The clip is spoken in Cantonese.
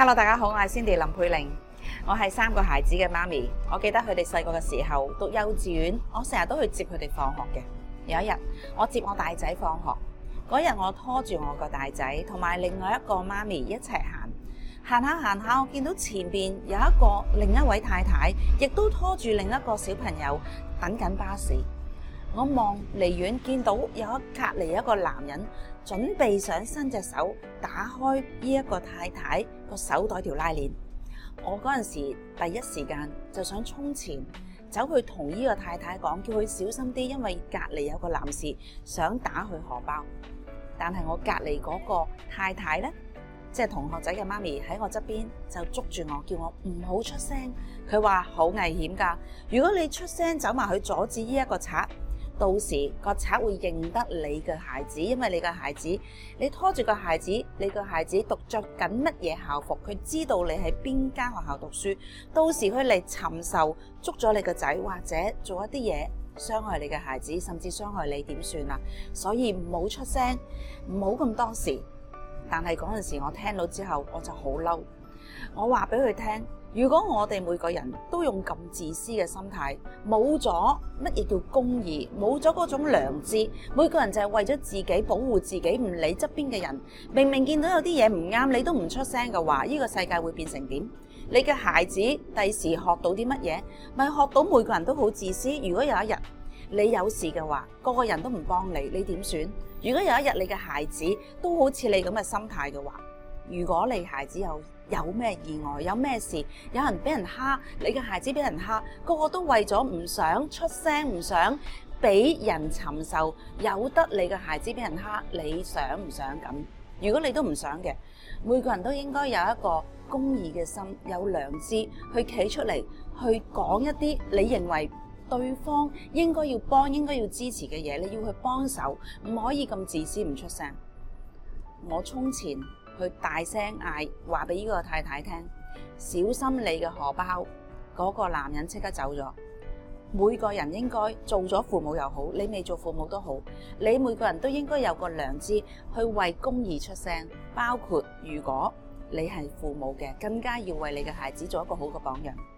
Hello， 大家好，我係 Cindy 林佩玲，我係3個孩子嘅媽咪。我記得佢哋細個嘅時候讀幼稚園，我成日都去接佢哋放學嘅。有一日，我接我大仔放學，嗰日我拖住我個大仔同埋另外一個媽咪一齊行下，我見到前邊有另一位太太，亦都拖住另一個小朋友等緊巴士。我望離遠見到隔離一個男人準備想伸隻手打開呢一個太太個手袋條拉鏈。我嗰陣時第一時間就想衝前走去同呢個太太講，叫佢小心啲，因為隔離有個男士想打佢荷包。但係我隔離嗰個太太呢，即係同學仔嘅媽咪喺我側邊就捉住我，叫我唔好出聲。佢話好危險㗎，如果你出聲走埋去阻止呢一個賊，到時個賊會認得你嘅孩子，因為你嘅孩子，你拖住個孩子，你個孩子讀着緊乜嘢校服，佢知道你喺邊間學校讀書，到時佢嚟尋仇，捉咗你個仔，或者做一啲嘢傷害你嘅孩子，甚至傷害你，點算啊？所以唔好出聲，唔好咁多事。但係嗰陣時我聽到之後，我就好嬲，我話俾佢聽，如果我哋每個人都用咁自私嘅心態，冇咗乜嘢叫公義，冇咗嗰種良知，每個人就係為咗自己保護自己，唔理側邊嘅人，明明見到有啲嘢唔啱，你都唔出聲嘅話，呢個世界會變成點？你嘅孩子第時學到啲乜嘢？咪學到每個人都好自私。如果有一日你有事嘅話，個個人都唔幫你，你點算？如果有一日你嘅孩子都好似你咁嘅心態嘅話，如果你孩子有咩意外，有咩事，有人俾人蝦，你嘅孩子俾人蝦，個個都為咗唔想出聲，唔想俾人尋仇，由得你嘅孩子俾人蝦，你想唔想咁？如果你都唔想嘅，每個人都應該有一個公義嘅心，有良知去企出嚟，去講一啲你認為對方應該要幫、應該要支持嘅嘢，你要去幫手，唔可以咁自私唔出聲。我衝前去大聲嗌，話俾呢個太太聽，小心你嘅荷包。嗰個男人即刻走咗。每個人應該做咗父母又好，你未做父母都好，你每個人都應該有個良知去為公義出聲，包括如果你係父母嘅，更加要為你嘅孩子做一個好嘅榜樣。